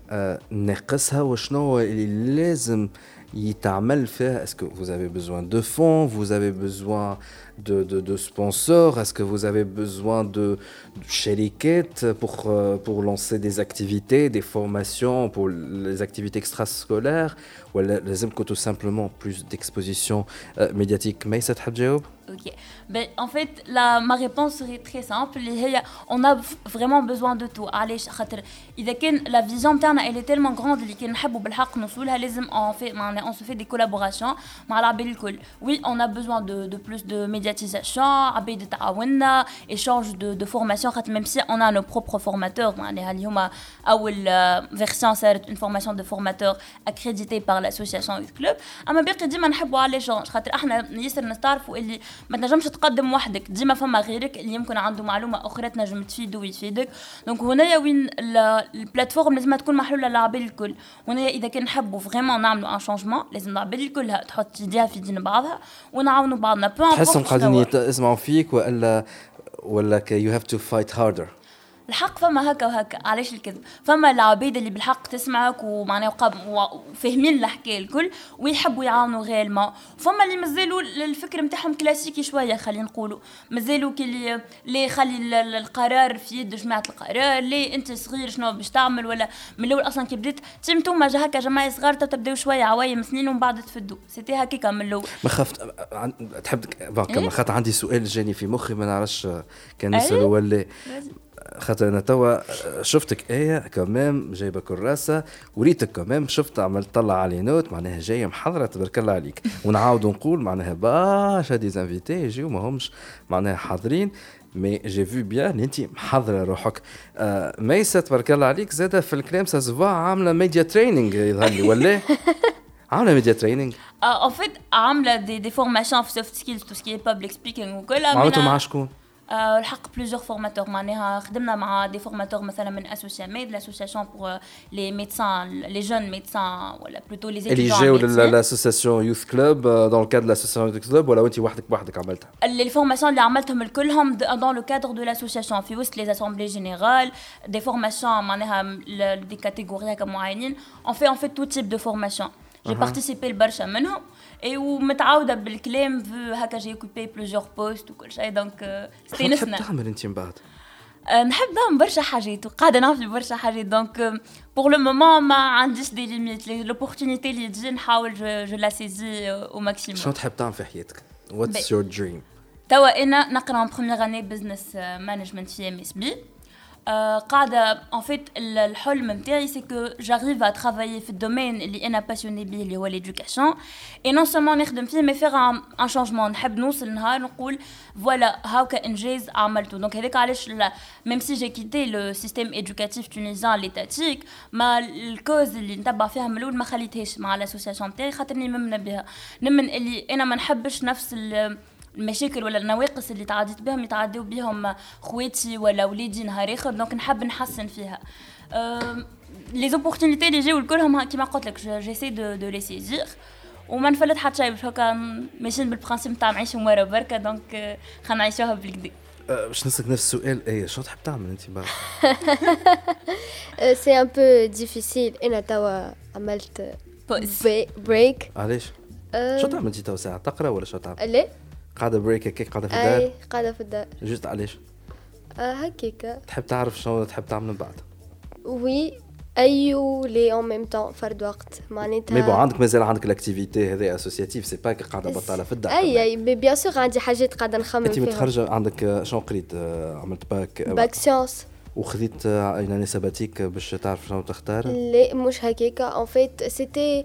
ناقصها وشنو اللي لازم يتعمل فيها؟ Est-ce que vous avez besoin de fonds? Vous avez besoin de sponsors? Est-ce que vous avez besoin de chériquettes pour lancer des activités, des formations pour les activités extrascolaires? Ou لازم tout simplement plus d'exposition médiatique? Mais ça تحب Ok. Ben, en fait, ma réponse serait très simple. On a vraiment besoin de tout. علاش خاطر إذا كان la vision تاعنا elle est tellement grande اللي كان نحبوا بالحق نوصلها لازم on se fait des collaborations مع العباد الكل. Oui, on a besoin de plus de médiatisation, عباد تعاوننا, échange de formation خاطر même si on a nos propres formateurs معناها اليوم أول version صارت une formation de formateurs accréditée par l'association Youth Club. أما باقي ديما نحبوا على l'échange خاطر احنا ياسر نستعرفوا اللي ما تنجمش تقدم وحدك, ديما فما غيرك اللي يمكن عنده معلومه اخرى تنجم تفيده ويفيدك. دونك هنايا وين البلاتفورم لازم تكون محلوله للعباد الكل. هنايا اذا كان نحبوا فريمون نعملوا ان شانجمون لازم العباد الكل تحط يديها في دين بعضها ونعاونوا بعضنا. تحسهم قاعدين يسمعوا فيك ولا you have to fight harder؟ الحق فما هكا وهكا. علاش الكذب؟ فما العباد اللي بالحق تسمعك ومعناه وفاهمين الحكايه الكل ويحبوا يعاونوا غيرما, وفما اللي مازالوا الفكر نتاعهم كلاسيكي شويه خلينا نقولوا, مازالوا كي اللي خلي القرار في يد جماعه القرار, ليه انت صغير شنو باش تعمل, ولا من الاول اصلا كي بديت تيمتوما جا هكا جماعه صغار تبداو شويه عوايم سنين ومن بعد تفدوا. سيتي هكاك من الاول. ما خفت تحب كما خاطر عندي سؤال جاني في مخي ما نعرفش كان نسأله ولا خاطر انا توا شفتك آية كمان جايبه كراسه وريتك كمان شفت عملت طلع على نوت معناها جايه محضره تبارك الله عليك, ونعاود نقول معناها باشا دي انفيتي يجيو ما همش معناها حاضرين, مي جي فيو بيان انت محضره روحك. ميسه تبارك الله عليك زاده في الكلام سازفا عامله ميديا تريننج يظهر لي ولا عامله ميديا تريننج En fait عامله des formations في soft skills tout ce qui est public speaking وكلها عملتوا مع شكون؟ الحق plusieurs formateurs معناها خدمنا مع des formateurs مثلا من Associamed l'association pour les médecins les jeunes médecins ولا plutôt les étudiants اللي جاوا l'association youth club dans le cadre de l'association youth club ولا انت وحدك عملتها؟ les formations اللي عملتهم الكلهم dans le cadre de l'association في وسط les assemblées générales des formations معناها des catégories هكا معينين on fait tout type de formation j'ai participé لبرشا منهم et ومتعوده بالكلام هكا j'ai occupé plusieurs postes وكل شيء دونك استانسنا. نحب تعمل انت من بعد؟ نحب نعمل برشا حاجات وقاعده نعمل برشا حاجات دونك pour le moment ما عنديش des limites l'opportunité اللي تجي نحاول je la saisis au maximum. شنو تحب تعمل في حياتك؟ what's your dream؟ توا انا نقرا en première année business management في MSB. قاعدة en fait الحلم متاعي c'est que j'arrive à travailler في الدومين اللي أنا passionnée بيه اللي هو l'éducation et non seulement نخدم فيه mais faire un changement نحب نوصل نهار نقول voilà هاكا إنجاز عملته donc هذاك علاش même si j'ai quitté le système éducatif tunisien l'étatique ما الكوز اللي نتبع فيها من الأول ما خليتهاش مع الأسوسياسيون متاعي خاطرني ممنة بها نمن اللي أنا ما نحبش نفس المشاكل ولا النواقص اللي تعديت بهم يتعدوا بهم خواتي ولا وليدي نهار اخر دونك نحب نحسن فيها لي زوبورتونيتي اللي جاو كلهم كيما قلت لك جيسي دو لي سيزير وما نفلت حتى شيء باش هكا ماشيين بالبرانسيب تاع نعيشوا مره بركه دونك خلينا نعيشوها بالكدا. باش نسالك نفس السؤال اي شنو تحب تعمل انت بعد؟ سي ان بو ديفيسيل انا توا عملت بريك. علاش؟ شو تعمل انت توا ساعه تقرا ولا شو تعمل؟ لا قاعده بريك هكاك قاعده في الدار؟ اي قاعده في الدار. جوست علاش؟ هكاك تحب تعرف شنو تحب تعمل من بعد؟ وي ايو لي اون ميم طون فرد وقت معناتها مي بون عندك مازال عندك الاكتيفيتي هذه اسوسياتيف سي با قاعده بطاله في الدار. اي بيان سور عندي حاجات قاعده نخمم فيها. انت متخرجه عندك شنو قريت؟ عملت باك سيونس وخذيت يعني سباتيك باش تعرف شنو تختار؟ لا مش هكاك ان فيت سيتي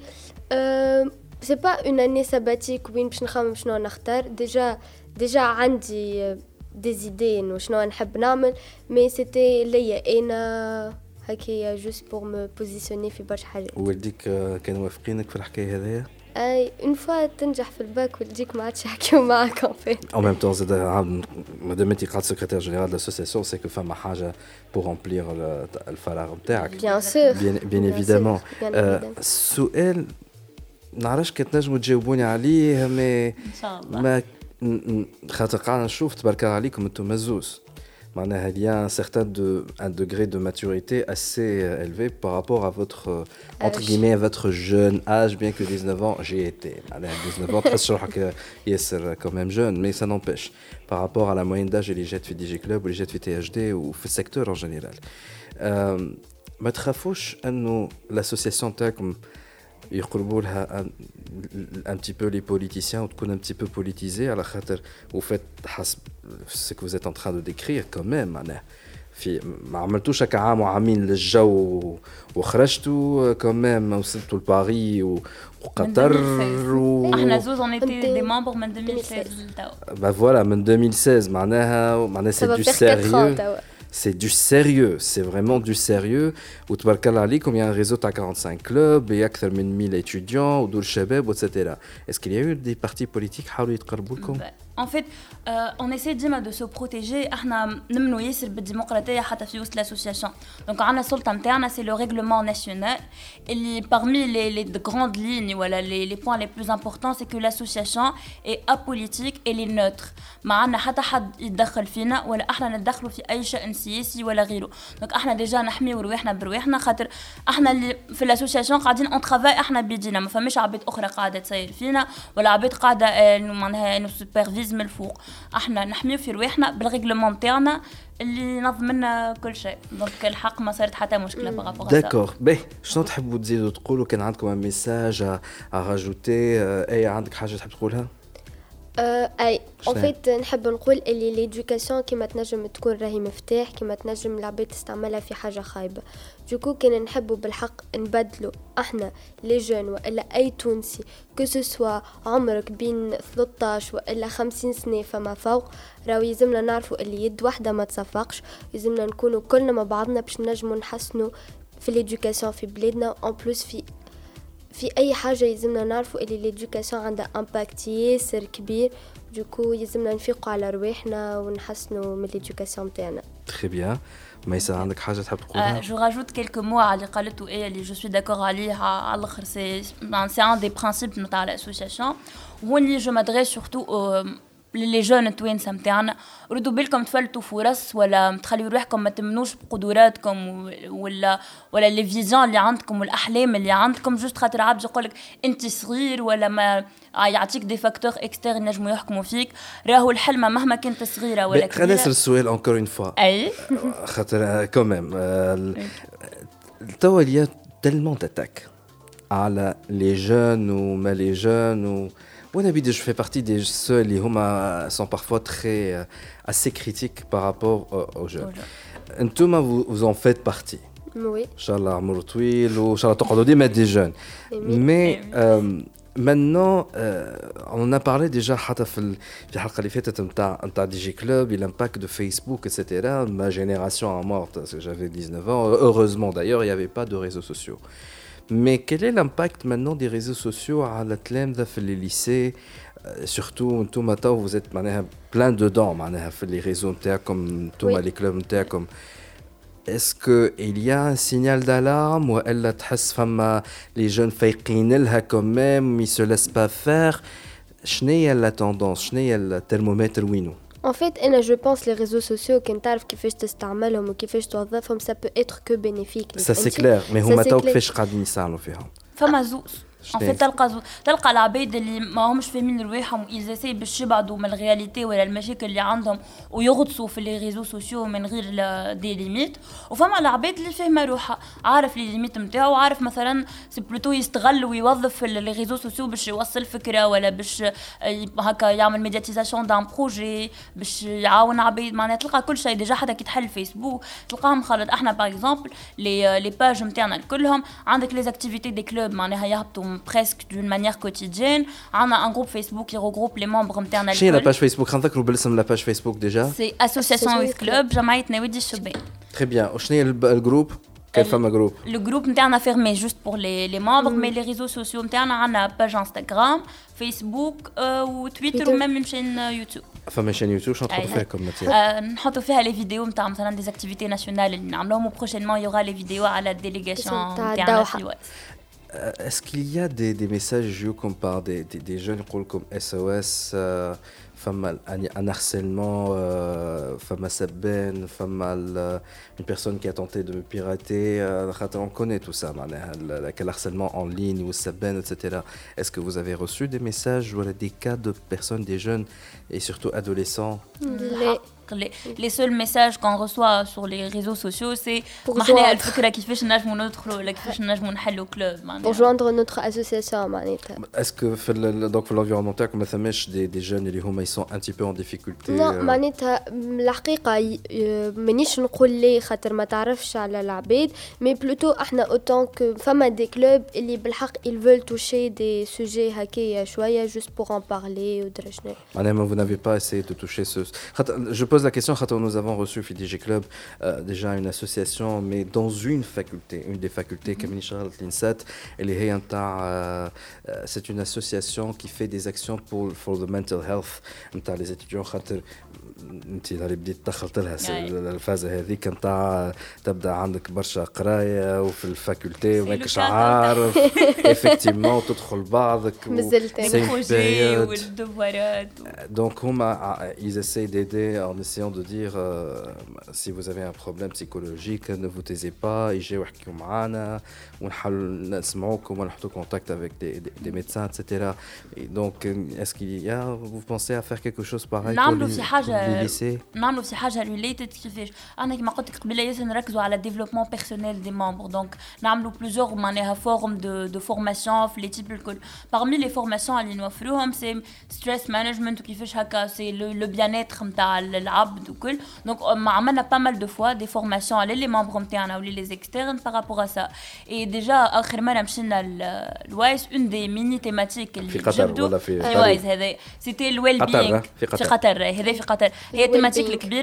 سي با اون اني سباتيك وين باش نخمم شنو نختار ديجا عندي دي زيدين وشنو نحب نعمل مي سيتي ليا انا هكايا جوست بور مو بوزيسيوني في برشا حاجات. والديك كانوا موافقينك في الحكايه هذيا؟ اي اون فوا تنجح في الباك والديك ما عادش يحكيو معاك ان فيت. او ميم طون زاد مادام انت قاعد سكرتير جينيرال دو لاسوسياسيون سي كو فما حاجه بور امبليغ الفراغ نتاعك. بيان سور بيان ايفيدامون. السؤال نعرفش كي تنجموا تجاوبوني عليه مي ان شاء الله ما خاطر قاعد نشوف تبارك عليكم انتم مزوز معناها il y a un degré de maturité assez élevé par rapport à votre entre guillemets à votre jeune âge bien que 19 ans j'ai été معناها 19 ans تحس روحك ياسر quand même jeune mais ça n'empêche par rapport à la moyenne d'âge اللي جات في دي جي كلوب واللي جات في تي اتش دي وفي السيكتور en général ما تخافوش انه l'association تاعكم يقربوا لها un petit peu les politiciens وتكون un petit peu politisée على خاطر وفات حسب ce que vous êtes en train de décrire quand même معناها في ما عملتوش هكا عام وعامين للجو وخرجتوا quand même وصلتوا لباريس وقطر احنا زوز on était des membres من 2016 bah voilà من 2016 معناها c'est du sérieux. C'est du sérieux, c'est vraiment du sérieux. Ou tabarkalla alikum, il y a un réseau de 45 clubs, il y a plus de 1000 étudiants, ou d'où le chabab, etc. Est-ce qu'il y a eu des partis politiques qui ont été En fait, on essaie de se protéger. احنا نمنو ياسر بالديمقراطية حتى في وسط l'association. Donc عندنا السلطة نتاعنا c'est le règlement national. Et parmi les grandes lignes voilà les points les plus importants c'est que l'association est apolitique et est neutre. ما عندنا حتى حد يتدخل فينا ولا احنا نتدخلوا في اي شأن سياسي ولا غيره. Donc احنا ديجا نحميو رواحنا برواحنا خاطر احنا اللي في l'association قاعدين on travaille احنا بيدينا ما فماش عباد اخرى قاعدة تصير فينا ولا عباد قاعدة معناها انه سوبرفيز من الفوق. احنا نحميو في رواحنا بالريغلمون تاعنا اللي ينظم لنا كل شيء دونك الحق ما صارت حتى مشكله بغابه غير داكور باهي شنو تحبوا تزيدوا تقولوا كان عندكم ميساج ا راجوتي اي عندك حاجه تحب تقولها اي ان فيت نحب نقول اللي ليدوكاسيون كيما تنجم تكون راهي مفتاح كيما تنجم العباد تستعملها في حاجه خايبه دوكو كان نحبوا بالحق نبدلوا احنا لي جون والا اي تونسي كو سوا عمرك بين 13 والا 50 سنه فما فوق راهو يلزمنا نعرفوا اللي يد واحده ما تصفقش يلزمنا نكونوا كلنا مع بعضنا باش نجموا نحسنوا في ليدوكاسيون في بلادنا اون بلوس في اي حاجه يلزمنا نعرفوا اللي ليدوكاسيون عندها امباكت ياسر كبير. دوكو يلزمنا نفيقوا على رواحنا ونحسنوا من ليدوكاسيون تاعنا. تري بيان. ميسا عندك حاجه تحب تقولها؟ جو راجوت كيلكو موا على اللي قالته ايه اللي جو سوي داكور عليها على الاخر سي ان دي برينسيپ نتاع الاسوسياسيون. هو اللي جو مادريس سورتو لي جون التوانسه نتاعنا. ردوا بالكم تفلتوا فرص ولا تخليوا روحكم ما تمنوش بقدراتكم ولا لي فيزيون اللي عندكم والاحلام اللي عندكم جوست خاطر عبد يقولك انت صغير ولا ما يعطيك دي فاكتور اكسترن ينجموا يحكموا فيك. راهو الحلمه مهما كنت صغيره ولا كبيره. خلينا نسال السؤال انكور اون فوا. اي خاطر كوميم توا اليا تالمون تاتاك على لي جون وما لي جون Moi, je fais partie des ceux qui sont parfois assez critiques par rapport aux jeunes. Entouma, vous en faites partie. Oui. Inch'Allah, amour طويل ou Inch'Allah تقعدوا mettre des jeunes. Mais maintenant, on en a parlé déjà حتى في الحلقة اللي فاتت نتاع ديجي كلوب l'impact de Facebook, etc. Ma génération à moi, parce que j'avais 19 ans. Heureusement d'ailleurs, il n'y avait pas de réseaux sociaux. Mais quel est l'impact maintenant des réseaux sociaux à la TLM, les lycées, surtout tout matin vous êtes plein dedans, les réseaux comme tous les clubs comme. Est-ce qu'il y a un signal d'alarme ou elle la les jeunes faiqinelha quand même, ils se laissent pas faire? Qu'est-ce la tendance? Qu'est-ce le thermomètre وينو? En fait, je pense les réseaux sociaux, quand tu sais كيفاش تستعملهم وكيفاش توظفهم, ça peut être que bénéfique. Ça c'est clair, mais هما تو كيفاش قاعدين يساعدوا فيهم؟ فما زوز. En fait تلقى العباد اللي ما همش فاهمين رواحهم يزاسي باش يبعدوا من الرياليتي ولا المشاكل اللي عندهم ويغطسوا في لي ريزو سوسيو من غير دي ليميت. وفما العباد اللي فاهمه روحها عارف لي ليميت نتاعو وعارف مثلا سي بلوتو يستغل ويوظف لي ريزو سوسيو باش يوصل فكره ولا باش هكا يعمل ميدياتيزاسيون دان بروجي باش يعاون عباد. معناتها تلقى كل شيء ديجا حتى كي تحل فيسبوك تلقاهم خالد. احنا باغ اكزومبل لي باج نتاعنا كلهم عندك لي اكتيفيتي دي كلوب معناها يهبطوا presque d'une manière quotidienne. On a un groupe Facebook qui regroupe les membres internes. Quelle est la page Facebook? La page Facebook déjà? C'est Association with Club, Jamaït Nawidi Choubé. Très bien. Quel est le groupe? Quelle femme a groupe? Le groupe interne a fermé juste pour les membres, mais les réseaux sociaux internes, on a page Instagram, Facebook ou Twitter ou même une chaîne YouTube. Femme chaîne YouTube, je suis en train de faire comme matière. نحطوا فيها les vidéos نتاع مثلا des activités nationales اللي نعملوهم prochainement il y aura les vidéos à la délégation interne. Est-ce qu'il y a des messages comme par des jeunes comme SOS, femme un harcèlement, femme à Sabben, femme une personne qui a tenté de me pirater, on connaît tout ça, quel harcèlement en ligne ou Sabben, etc. Est-ce que vous avez reçu des messages ou des cas de personnes, des jeunes et surtout adolescents? Les seuls messages qu'on reçoit sur les réseaux sociaux c'est محنا الفكره كيفاش نجموا ندخلوا ولا كيفاش نجموا نحلوا كلوب pour joindre notre association معناتها. Est-ce que donc في l'environnement تاعكم ما ثماش des jeunes اللي هما ils sont un petit peu en difficulté? لا معناتها الحقيقه مانيش نقول لي خاطر ما تعرفش على العباد مي بلوتو احنا اوتون كو فما دي كلوب اللي بالحق ils veulent toucher des sujets هكايا شويه juste pour en parler ودرشنا. معناها vous n'avez pas essayé de toucher ce je pose la question car nous avons reçu FIDG Club déjà une association mais dans une des facultés comme l'INSAT c'est une association qui fait des actions pour the mental health نتاع les étudiants انت اللي بديت دخلت لها الفازه هذيك نتاع تبدا عندك برشا قرايه وفي الفاكولتي وماكش عارف effectivement تدخل بعضك البروجي والدوارات donc هما ils essayent d'aider en essayant de dire si vous avez un problème psychologique ne vous taisez pas يجيو يحكيوا معانا ونحاول نسمعوكم ونحطوا contact avec des médecins etc. Et donc est-ce qu'il y a vous pensez à faire quelque chose pareil pour نعملوا في حاجه ريليتد كيفاش انا كما قلت لك قبيله ياسر نركزوا على ديفلوبمون بيرسونيل دي ممبر دونك نعملوا بليزيور معناها فورم دو فورماسيون في لي تيب الكل parmi les formations اللي نوفروهم سي ستريس مانجمنت وكيفاش هكا سي لو بيان اتر نتاع العبد وكل دونك عملنا با مال دو فوا دي فورماسيون على لي ممبر نتاعنا ولا لي اكسترن بارابور ا سا اي ديجا اخر مره مشينا الوايس اون دي ميني تيماتيك اللي في قطر ولا في الوايس هذا سيتي الويل بينغ في قطر هذا في قطر هي تيماتيك الكبيره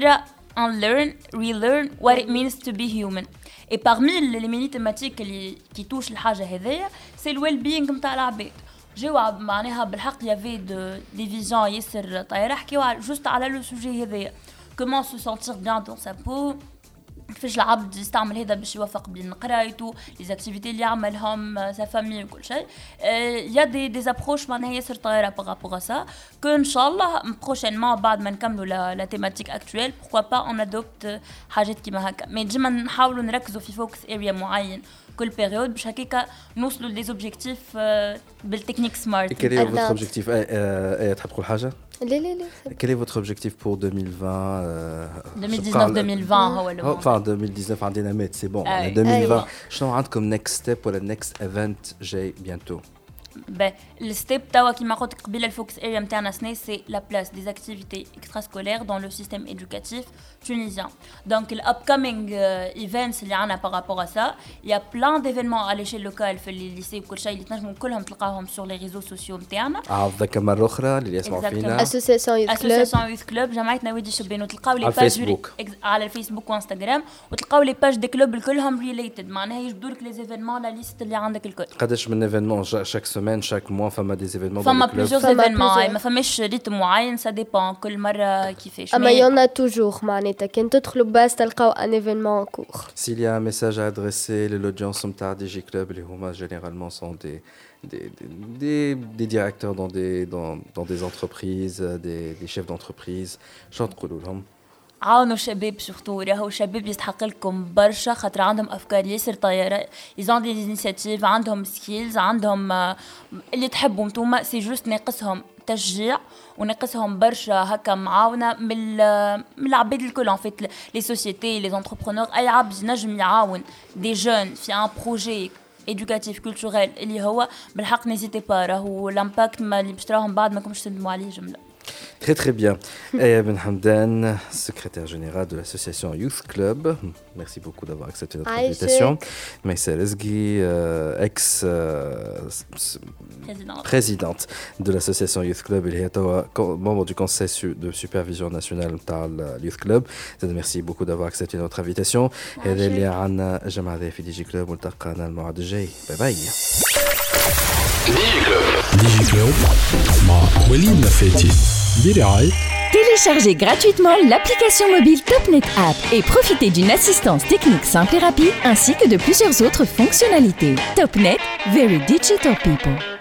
unlearn, relearn what it means to be human. Et parmi les mini thématiques qui touchent الحاجة هذية c'est le well-being نتاع العباد. جاوا معناها بالحق يافي دي فيزيون ياسر طايره حكيو جوست على لو سوجي هذايا كومون سو سونتير بيان دون سا بو كيفاش العبد يستعمل هذا باش يوفق بين قرايته لي زاكتيفيتي اللي يعملهم سا فامي وكل شيء يا دي زابروش معناها ياسر طايره بارابور سا كو ان شاء الله بروشينمون بعد ما نكملوا لا تيماتيك اكطويل بوركوا با اون ادوبت حاجات كيما هكا مي ديما نحاولوا نركزوا في فوكس اريا معين كل بيريود باش هكاك نوصلوا لي زوبجيكتيف بالتكنيك سمارت. Quel est votre objectif تحب تقول حاجه؟ لا Quel est votre objectif pour 2020 2019-2020 هو اللي enfin 2019 عندنا مات سي بون 2020 شنو عندكم next step ولا next event جاي bientôt؟ Ben, le step توا كيما قلت قبيله الفوكس اريا نتاعنا سنه سي لا بلاس دي اكتيفيتي اكستراسكولير دون لو سيستيم éducatif tunisien. Donc الابكامينغ ايفنتس اللي عندنا بارابور سا يا بلان ديفينمون على ليشيل لوكال في الليسي وكل شيء اللي تنجموا كلهم تلقاهم سور لي ريزو سوسيو نتاعنا. عاودك مره اخرى اللي يسمعوا فينا اسوسياسيون يوث كلوب جمعيه نوادي الشبان وتلقاو لي باج الفيسبوك. على الفيسبوك وانستغرام وتلقاو لي باج دي كلوب كلهم ريليتد معناها يجبدوا لك لي زيفينمون لا ليست اللي عندك الكل. قداش من ايفينمون chaque semaine chaque mois فما دي ايفينمون فما بليزيور ايفينمون ما فماش ريتم معين سا ديبون كل مره كيفاش اما يونا توجور معناتها كان تدخلوا باس تلقاو ان ايفينمون كور. S'il y a un message à adresser l'audience نتاع DG Club اللي هما généralement sont des directeurs dans des entreprises des chefs d'entreprise شنو تقولوا لهم؟ عاونوا الشباب سورتو راهو الشباب يستحق لكم برشا خاطر عندهم افكار ياسر طايره ايزون دي انيشيتيف عندهم سكيلز عندهم اللي تحبوا نتوما سي جوست ناقصهم تشجيع وناقصهم برشا هكا معاونه من العباد الكل ان فيت لي سوسيتي لي انتربرونور اي عبد نجم يعاون دي جون في ان بروجي éducatif culturel اللي هو بالحق نيزيتي با راهو الامباكت اللي باش تراهم بعد ما كنتش تندموا عليه جمله. Très très bien. Et Ben Hamdan, secrétaire général de l'association Youth Club. Merci beaucoup d'avoir accepté notre invitation. Maïssa Rezgui, ex-présidente de l'association Youth Club. Elle est membre du conseil de supervision nationale de Youth Club. Merci beaucoup d'avoir accepté notre invitation. Et elle est Anna Jamadeh في DG Club. ونلتقانا الموعد الجاي. باي باي. DG Club مع وليد لفاتي برعاية. Téléchargez gratuitement l'application mobile TopNet App et profitez d'une assistance technique simple et rapide ainsi que de plusieurs autres fonctionnalités. TopNet, very digital people.